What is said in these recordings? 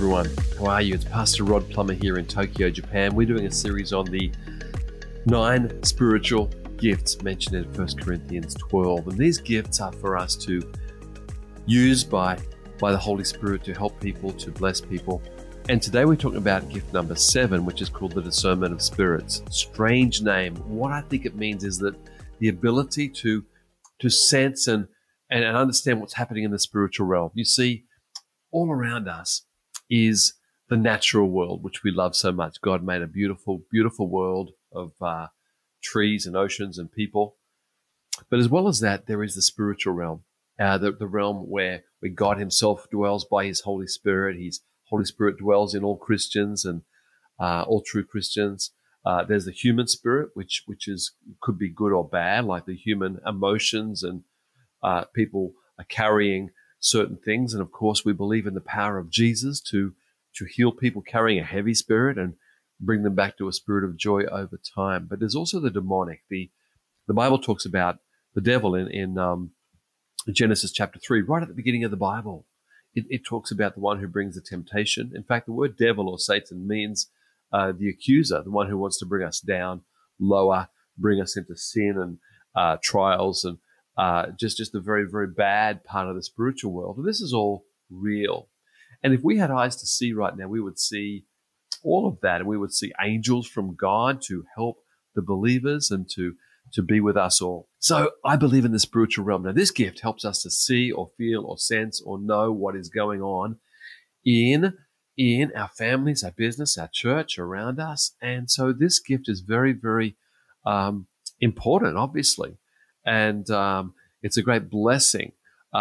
everyone. How are you? It's Pastor Rod Plummer here in Tokyo, Japan. We're doing a series on the 9 spiritual gifts mentioned in 1 Corinthians 12. And these gifts are for us to use by the Holy Spirit to help people, to bless people. And today we're talking about gift number 7, which is called the discernment of spirits. Strange name. What I think it means is that the ability to sense and understand what's happening in the spiritual realm. You see, all around us is the natural world, which we love so much. God made a beautiful, beautiful world of trees and oceans and people. But as well as that, there is the spiritual realm, the realm where God himself dwells by his Holy Spirit. His Holy Spirit dwells in all Christians and all true Christians. There's the human spirit, which could be good or bad, like the human emotions, and people are carrying certain things. And of course, we believe in the power of Jesus to heal people carrying a heavy spirit and bring them back to a spirit of joy over time. But there's also the demonic. The Bible talks about the devil in Genesis chapter 3, right at the beginning of the Bible. It talks about the one who brings the temptation. In fact, the word devil or Satan means the accuser, the one who wants to bring us down, lower, bring us into sin and trials and just a very, very bad part of the spiritual world. And this is all real. And if we had eyes to see right now, we would see all of that, and we would see angels from God to help the believers and to be with us all. So I believe in the spiritual realm. Now, this gift helps us to see or feel or sense or know what is going on in our families, our business, our church, around us. And so this gift is very, very important, obviously. And it's a great blessing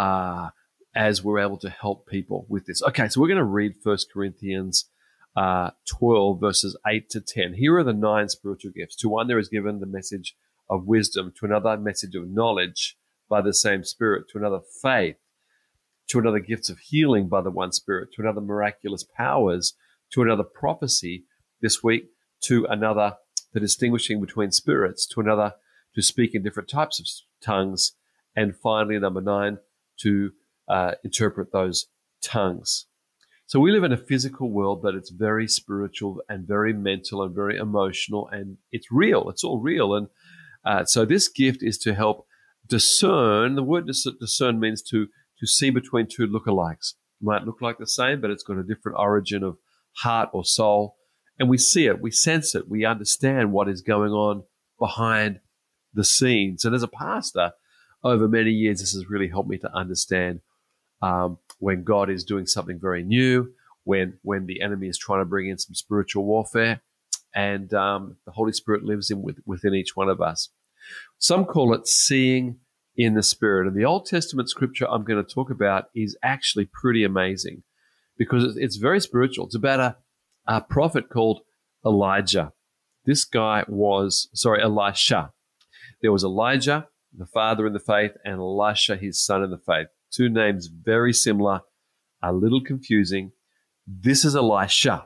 as we're able to help people with this. Okay, so we're going to read 1 Corinthians 12, verses 8 to 10. Here are the 9 spiritual gifts. To one there is given the message of wisdom, to another message of knowledge by the same Spirit, to another faith, to another gifts of healing by the one Spirit, to another miraculous powers, to another prophecy this week, to another the distinguishing between spirits, to another to speak in different types of tongues, and finally, number 9, to interpret those tongues. So we live in a physical world, but it's very spiritual and very mental and very emotional, and it's real. It's all real. And so this gift is to help discern. The word discern means to see between two lookalikes. It might look like the same, but it's got a different origin of heart or soul. And we see it, we sense it, we understand what is going on behind the scenes. And as a pastor, over many years, this has really helped me to understand when God is doing something very new, when the enemy is trying to bring in some spiritual warfare, and the Holy Spirit lives within each one of us. Some call it seeing in the Spirit. And the Old Testament scripture I'm going to talk about is actually pretty amazing because it's very spiritual. It's about a prophet called Elijah. This guy Elisha. There was Elijah, the father in the faith, and Elisha, his son in the faith. 2 names very similar, a little confusing. This is Elisha.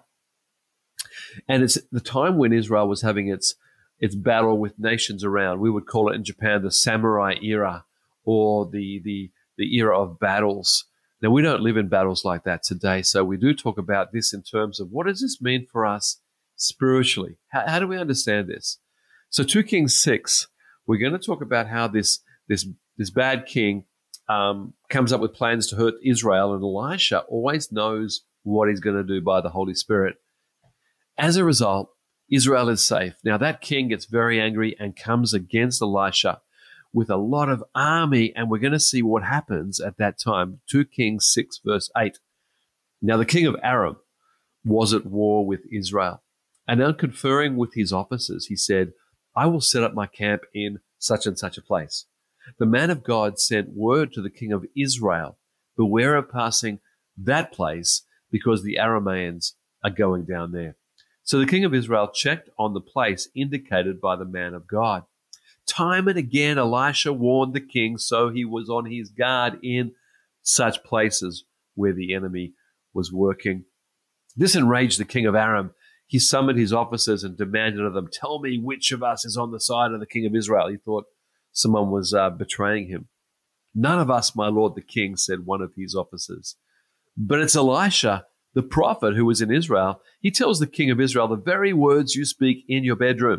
And it's the time when Israel was having its battle with nations around. We would call it in Japan the samurai era, or the era of battles. Now, we don't live in battles like that today, so we do talk about this in terms of what does this mean for us spiritually? How do we understand this? So 2 Kings 6, we're going to talk about how this bad king comes up with plans to hurt Israel, and Elisha always knows what he's going to do by the Holy Spirit. As a result, Israel is safe. Now, that king gets very angry and comes against Elisha with a lot of army, and we're going to see what happens at that time. 2 Kings 6, verse 8. Now, the king of Aram was at war with Israel, and on conferring with his officers, he said, I will set up my camp in such and such a place. The man of God sent word to the king of Israel, beware of passing that place because the Arameans are going down there. So the king of Israel checked on the place indicated by the man of God. Time and again, Elisha warned the king, so he was on his guard in such places where the enemy was working. This enraged the king of Aram. He summoned his officers and demanded of them, tell me which of us is on the side of the king of Israel. He thought someone was betraying him. None of us, my lord the king, said one of his officers. But it's Elisha, The prophet who was in Israel, he tells the king of Israel the very words you speak in your bedroom.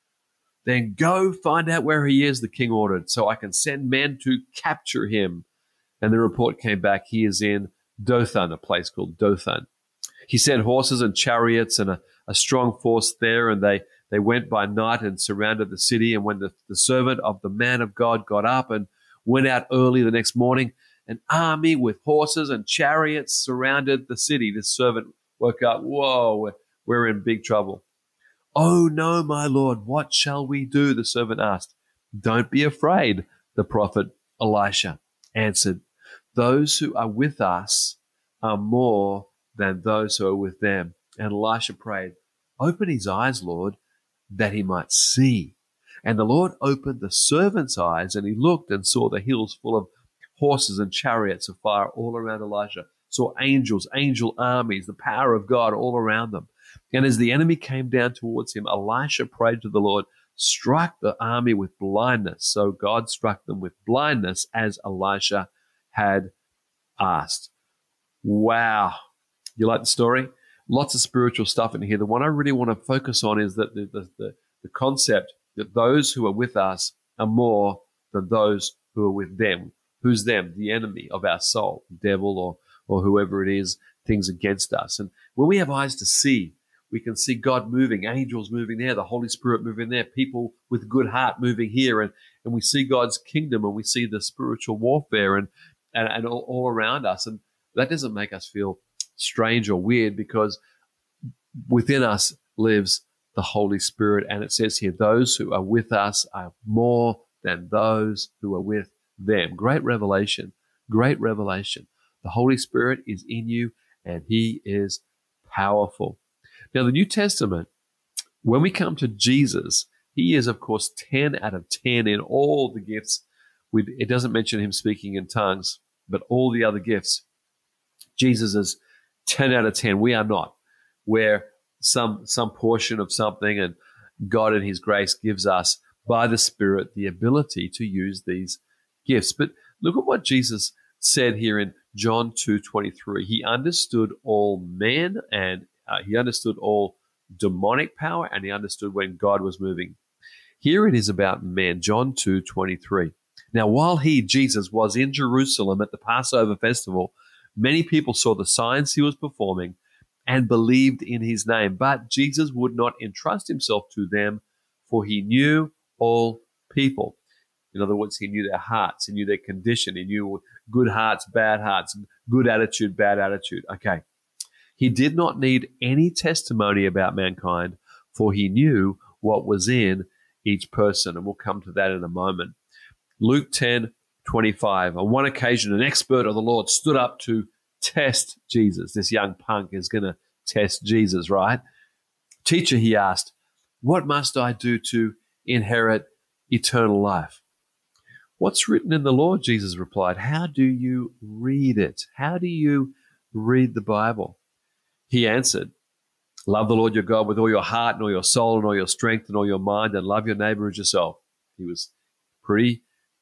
Then go find out where he is, the king ordered, so I can send men to capture him. And the report came back, he is in Dothan, a place called Dothan. He sent horses and chariots and a strong force there, and they went by night and surrounded the city. And when the servant of the man of God got up and went out early the next morning, an army with horses and chariots surrounded the city. This servant woke up, whoa, we're in big trouble. Oh no, my Lord, what shall we do? The servant asked. Don't be afraid, the prophet Elisha answered. Those who are with us are more than those who are with them. And Elisha prayed, open his eyes, Lord, that he might see. And the Lord opened the servant's eyes, and he looked and saw the hills full of horses and chariots of fire all around Elisha, saw angels, angel armies, the power of God all around them. And as the enemy came down towards him, Elisha prayed to the Lord, struck the army with blindness. So God struck them with blindness as Elisha had asked. Wow. You like the story? Lots of spiritual stuff in here. The one I really want to focus on is that the concept that those who are with us are more than those who are with them. Who's them? The enemy of our soul, the devil or whoever it is, things against us. And when we have eyes to see, we can see God moving, angels moving there, the Holy Spirit moving there, people with good heart moving here. And we see God's kingdom, and we see the spiritual warfare and all around us. And that doesn't make us feel strange or weird, because within us lives the Holy Spirit. And it says here, those who are with us are more than those who are with them. Great revelation, great revelation. The Holy Spirit is in you, and he is powerful. Now, the New Testament, when we come to Jesus, he is, of course, 10 out of 10 in all the gifts. It doesn't mention him speaking in tongues, but all the other gifts. Jesus is 10 out of 10. We are not. Where some portion of something, and God in his grace gives us by the Spirit the ability to use these gifts. But look at what Jesus said here in John 2:23. He understood all men, and he understood all demonic power, and he understood when God was moving. Here it is about men, John 2:23. Now, while he, Jesus, was in Jerusalem at the Passover festival, many people saw the signs he was performing and believed in his name. But Jesus would not entrust himself to them, for he knew all people. In other words, he knew their hearts, he knew their condition, he knew good hearts, good attitude, bad attitude. Okay. He did not need any testimony about mankind, for he knew what was in each person. And we'll come to that in a moment. Luke 10:25. On one occasion, an expert of the Lord stood up to test Jesus. This young punk is going to test Jesus, right? Teacher, he asked, what must I do to inherit eternal life? What's written in the law? Jesus replied. How do you read it? How do you read the Bible? He answered, love the Lord your God with all your heart and all your soul and all your strength and all your mind, and love your neighbor as yourself. He was pretty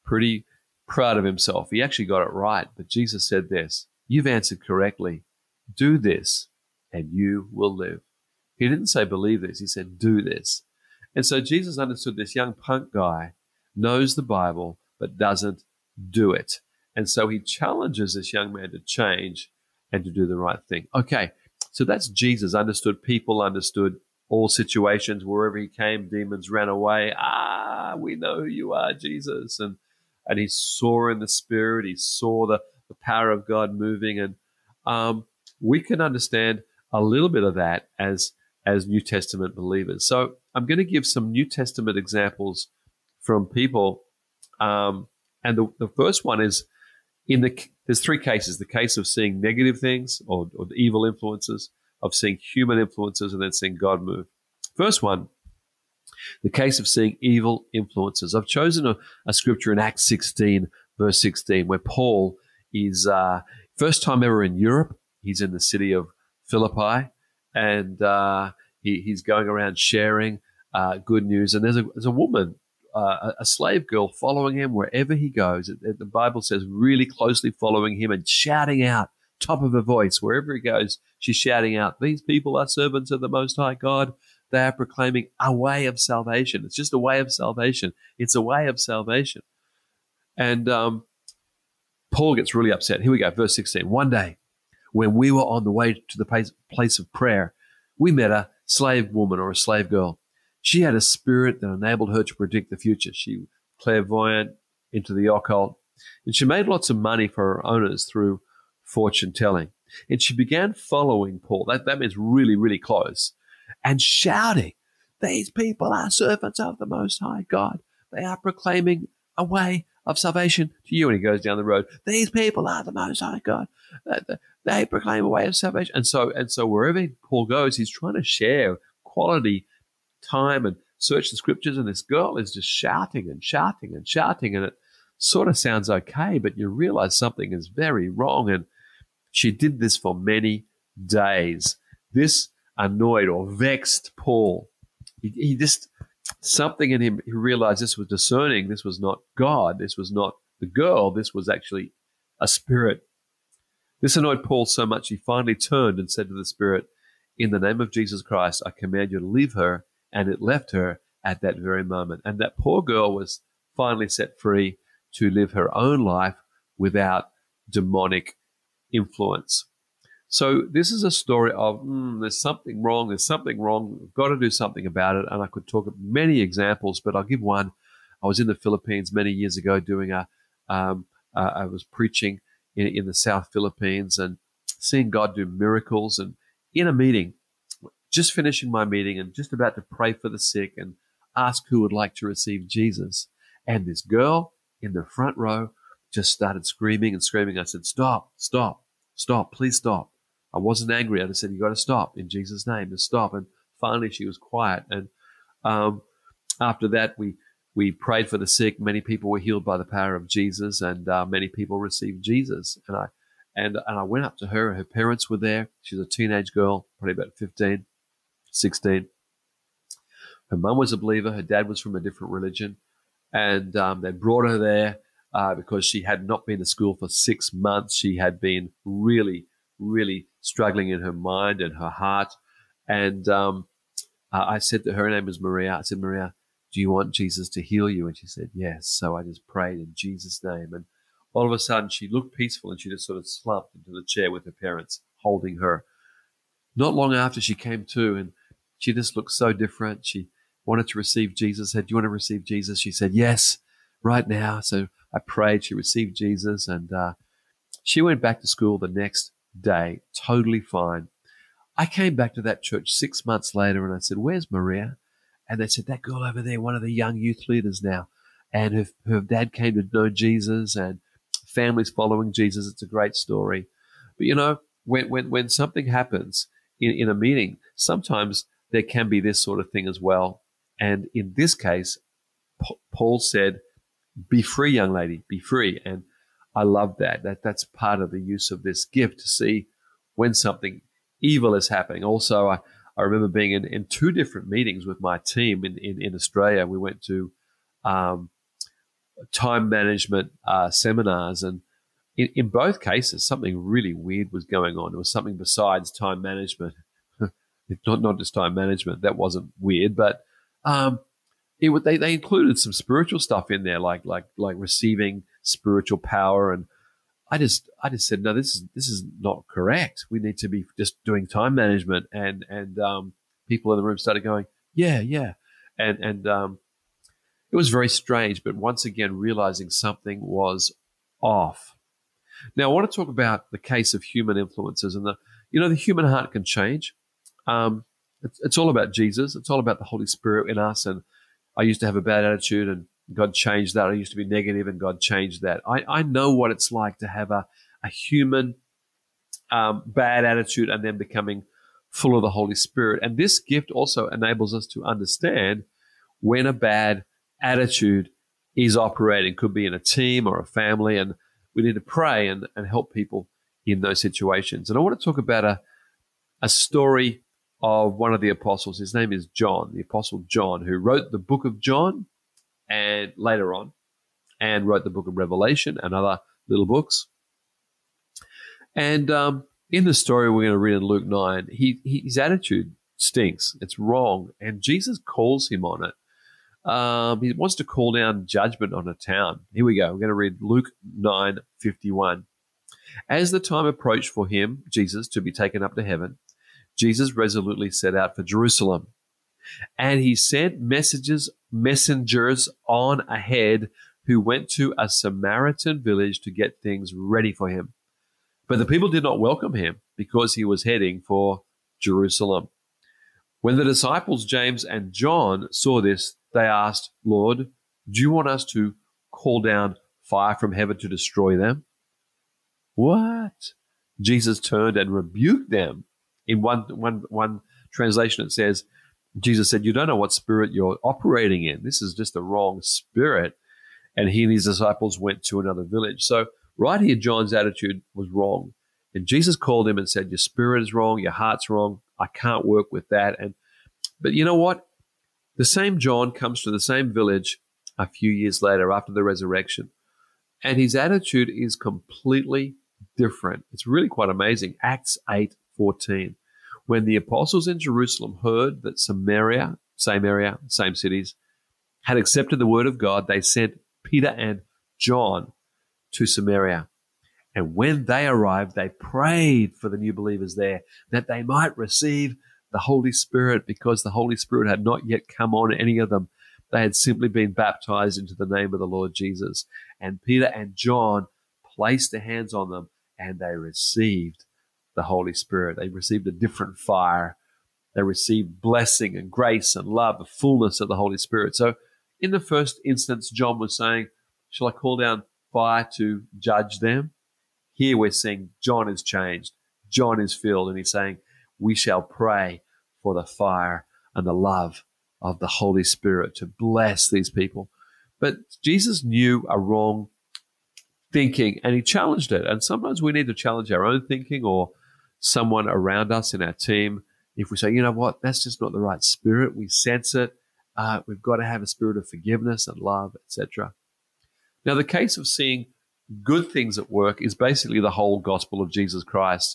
proud of himself. He actually got it right. But Jesus said this, you've answered correctly. Do this and you will live. He didn't say believe this. He said do this. And so Jesus understood this young punk guy knows the Bible but doesn't do it. And so he challenges this young man to change and to do the right thing. Okay, so that's Jesus. Understood people, understood all situations. Wherever he came, demons ran away. We know who you are, Jesus. And he saw in the Spirit. He saw the power of God moving. And we can understand a little bit of that as New Testament believers. So I'm going to give some New Testament examples from people. And the first one is there's three cases: the case of seeing negative things or the evil influences, of seeing human influences, and then seeing God move. First one, the case of seeing evil influences. I've chosen a scripture in Acts 16, verse 16, where Paul is first time ever in Europe. He's in the city of Philippi, and he's going around sharing good news. And there's a woman, a slave girl, following him wherever he goes. The Bible says really closely following him and shouting out top of her voice. Wherever he goes, she's shouting out, these people are servants of the Most High God. They are proclaiming a way of salvation. It's just a way of salvation. It's a way of salvation. And Paul gets really upset. Here we go, verse 16. One day, when we were on the way to the place of prayer, we met a slave woman or a slave girl. She had a spirit that enabled her to predict the future. She was clairvoyant, into the occult, and she made lots of money for her owners through fortune telling. And she began following Paul. That means really, really close, and shouting, these people are servants of the Most High God. They are proclaiming a way of salvation to you. And he goes down the road, these people are the Most High God. They proclaim a way of salvation. And so wherever Paul goes, he's trying to share quality time and search the scriptures. And this girl is just shouting and shouting and shouting. And it sort of sounds okay, but you realize something is very wrong. And she did this for many days. This annoyed or vexed Paul. He just, something in him, he realized this was discerning. This was not God. This was not the girl. This was actually a spirit. This annoyed Paul so much he finally turned and said to the spirit, in the name of Jesus Christ, I command you to leave her. And it left her at that very moment. And that poor girl was finally set free to live her own life without demonic influence. So this is a story of there's something wrong. We've got to do something about it. And I could talk of many examples, but I'll give one. I was in the Philippines many years ago doing I was preaching in the South Philippines and seeing God do miracles. And in a meeting, just finishing my meeting and just about to pray for the sick and ask who would like to receive Jesus. And this girl in the front row just started screaming and screaming. I said, stop, please stop. I wasn't angry. I just said, you got to stop in Jesus' name, just stop. And finally she was quiet. And after that, we prayed for the sick. Many people were healed by the power of Jesus, and many people received Jesus. And I went up to her. Her parents were there. She was a teenage girl, probably about 15, 16. Her mum was a believer. Her dad was from a different religion. And they brought her there because she had not been to school for 6 months. She had been really, really struggling in her mind and her heart. And I said to her, her name was Maria. I said, Maria, do you want Jesus to heal you? And she said, yes. So I just prayed in Jesus' name. And all of a sudden, she looked peaceful and she just sort of slumped into the chair with her parents holding her. Not long after, she came to, and she just looked so different. She wanted to receive Jesus. I said, do you want to receive Jesus? She said, yes, right now. So I prayed. She received Jesus, and she went back to school the next day, totally fine. I came back to that church 6 months later, and I said, where's Maria? And they said, that girl over there, one of the young youth leaders now. And her dad came to know Jesus, and families following Jesus. It's a great story. But, you know, when something happens in a meeting, sometimes there can be this sort of thing as well. And in this case, Paul said, be free, young lady, be free. And I love that's part of the use of this gift, to see when something evil is happening. Also, I remember being in 2 different meetings with my team in Australia. We went to time management seminars, and in both cases, something really weird was going on. It was something besides time management. not just time management. That wasn't weird, but they included some spiritual stuff in there, like receiving spiritual power. And I just said, no, this is not correct. We need to be just doing time management. And people in the room started going, yeah. And it was very strange, but once again, realizing something was off. Now, I want to talk about the case of human influences, and the human heart can change. It's all about Jesus. It's all about the Holy Spirit in us. And I used to have a bad attitude, and God changed that. I used to be negative, and God changed that. I know what it's like to have a human bad attitude and then becoming full of the Holy Spirit. And this gift also enables us to understand when a bad attitude is operating. Could be in a team or a family, and we need to pray and help people in those situations. And I want to talk about a story of one of the apostles. His name is John, the Apostle John, who wrote the book of John and later on, and wrote the book of Revelation and other little books. And in the story we're going to read in Luke 9, his attitude stinks. It's wrong. And Jesus calls him on it. He wants to call down judgment on a town. Here we go. We're going to read Luke 9:51. As the time approached for him, Jesus, to be taken up to heaven, Jesus resolutely set out for Jerusalem. And he sent messengers on ahead who went to a Samaritan village to get things ready for him. But the people did not welcome him because he was heading for Jerusalem. When the disciples James and John saw this, they asked, "Lord, do you want us to call down fire from heaven to destroy them?" What? Jesus turned and rebuked them. In one translation, it says, Jesus said, "You don't know what spirit you're operating in. This is just the wrong spirit." And he and his disciples went to another village. So right here, John's attitude was wrong. And Jesus called him and said, "Your spirit is wrong. Your heart's wrong. I can't work with that." But you know what? The same John comes to the same village a few years later after the resurrection. And his attitude is completely different. It's really quite amazing. Acts 8:14. When the apostles in Jerusalem heard that Samaria, same area, same cities, had accepted the word of God, they sent Peter and John to Samaria. And when they arrived, they prayed for the new believers there that they might receive the Holy Spirit, because the Holy Spirit had not yet come on any of them. They had simply been baptized into the name of the Lord Jesus. And Peter and John placed their hands on them and they received the Holy Spirit. They received a different fire. They received blessing and grace and love, the fullness of the Holy Spirit. So in the first instance, John was saying, "Shall I call down fire to judge them?" Here we're seeing John is changed. John is filled, and he's saying, we shall pray for the fire and the love of the Holy Spirit to bless these people. But Jesus knew a wrong thinking, and he challenged it. And sometimes we need to challenge our own thinking or someone around us in our team. If we say, you know what, that's just not the right spirit, we sense it. We've got to have a spirit of forgiveness and love, etc. Now, the case of seeing good things at work is basically the whole gospel of Jesus Christ.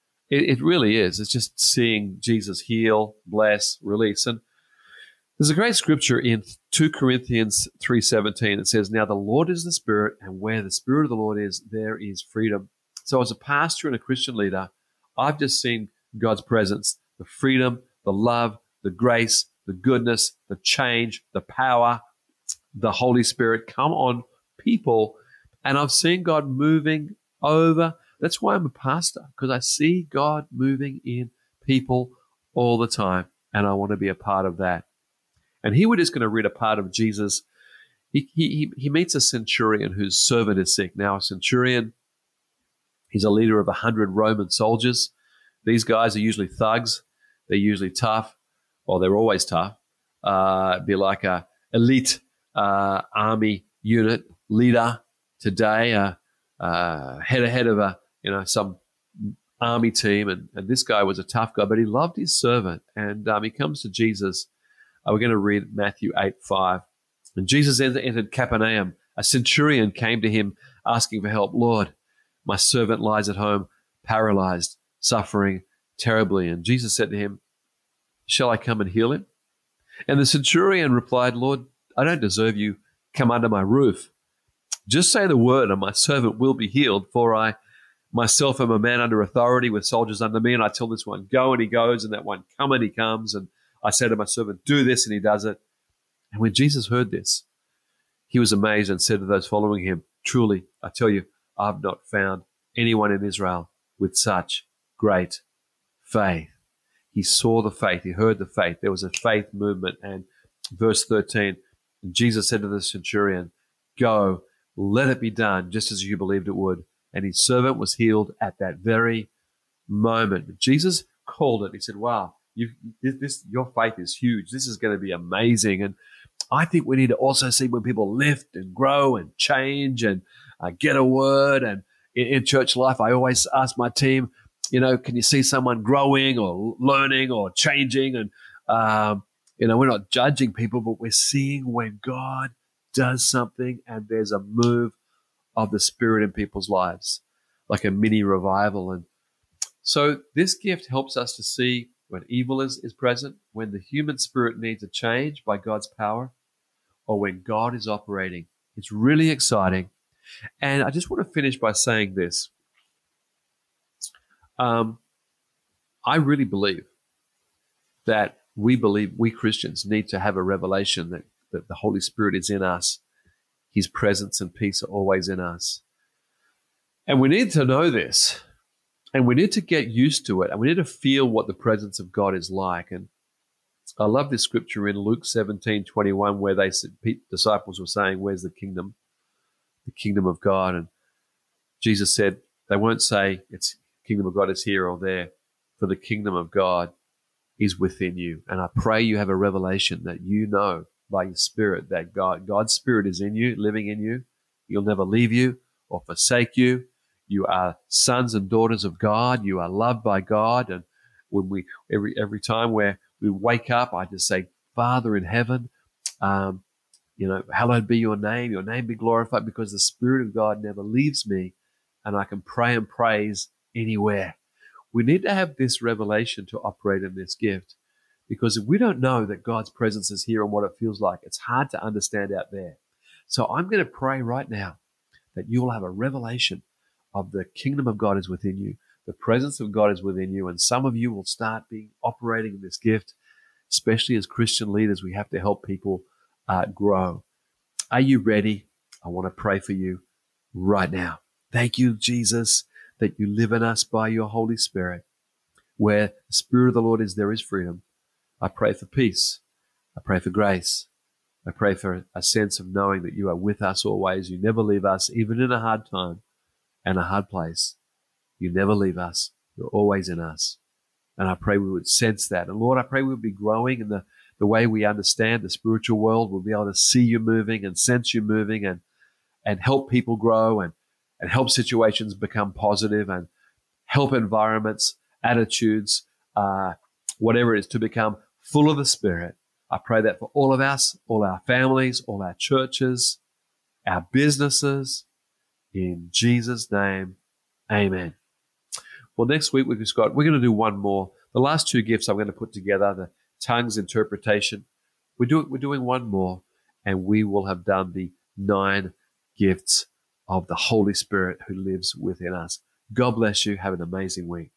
It really is. It's just seeing Jesus heal, bless, release. And there's a great scripture in 2 Corinthians 3:17. It says, "Now the Lord is the Spirit, and where the Spirit of the Lord is, there is freedom." So as a pastor and a Christian leader, I've just seen God's presence, the freedom, the love, the grace, the goodness, the change, the power, the Holy Spirit come on people. And I've seen God moving over. That's why I'm a pastor, because I see God moving in people all the time, and I want to be a part of that. And here we're just going to read a part of Jesus. He meets a centurion whose servant is sick. Now, a centurion, he's a leader of 100 Roman soldiers. These guys are usually thugs. They're usually tough, or they're always tough. Be like a elite army unit leader today, head of some army team, and this guy was a tough guy, but he loved his servant, and he comes to Jesus. We're going to read Matthew 8:5. And Jesus entered Capernaum. A centurion came to him asking for help. "Lord, my servant lies at home, paralyzed, suffering terribly." And Jesus said to him, "Shall I come and heal him?" And the centurion replied, "Lord, I don't deserve you come under my roof. Just say the word and my servant will be healed, for I myself am a man under authority with soldiers under me, and I tell this one, go, and he goes, and that one, come, and he comes, and I say to my servant, do this, and he does it." And when Jesus heard this, he was amazed and said to those following him, "Truly, I tell you, I've not found anyone in Israel with such great faith." He saw the faith. He heard the faith. There was a faith movement. And verse 13, Jesus said to the centurion, "Go, let it be done just as you believed it would." And his servant was healed at that very moment. But Jesus called it. He said, "Wow, your faith is huge. This is going to be amazing." And I think we need to also see when people lift and grow and change and get a word. And in church life, I always ask my team, can you see someone growing or learning or changing? And, we're not judging people, but we're seeing when God does something and there's a move of the Spirit in people's lives. like a mini revival. And so this gift helps us to see when evil is present, when the human spirit needs a change by God's power, or when God is operating. It's really exciting. And I just want to finish by saying this. I really believe that we Christians need to have a revelation that the Holy Spirit is in us. His presence and peace are always in us. And we need to know this. And we need to get used to it. And we need to feel what the presence of God is like. And I love this scripture in Luke 17:21, where disciples were saying, "Where's the kingdom of God?" And Jesus said, they won't say it's kingdom of God is here or there, for the kingdom of God is within you. And I pray you have a revelation that you know by your spirit that God's spirit is in you, living in you. He'll never leave you or forsake you. You are sons and daughters of God. You are loved by God. And when every time where we wake up, I just say, Father in heaven, hallowed be your name be glorified, because the Spirit of God never leaves me and I can pray and praise anywhere. We need to have this revelation to operate in this gift, because if we don't know that God's presence is here and what it feels like, it's hard to understand out there. So I'm going to pray right now that you will have a revelation of the kingdom of God is within you. The presence of God is within you, and some of you will start operating in this gift. Especially as Christian leaders, we have to help people grow. Are you ready? I want to pray for you right now. Thank you, Jesus, that you live in us by your Holy Spirit. Where the Spirit of the Lord is, there is freedom. I pray for peace. I pray for grace. I pray for a sense of knowing that you are with us always. You never leave us, even in a hard time and a hard place. You never leave us. You're always in us. And I pray we would sense that. And Lord, I pray we would be growing in the way we understand the spiritual world. We'll be able to see you moving and sense you moving and help people grow and help situations become positive and help environments, attitudes, whatever it is, to become full of the Spirit. I pray that for all of us, all our families, all our churches, our businesses. In Jesus' name, amen. Well, next week we're going to do one more. The last two gifts I'm going to put together, the tongues interpretation. We're doing one more, and we will have done the 9 gifts of the Holy Spirit who lives within us. God bless you. Have an amazing week.